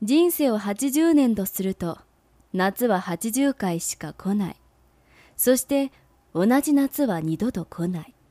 人生を80年とすると、夏は80回しか来ない。そして同じ夏は二度と来ない。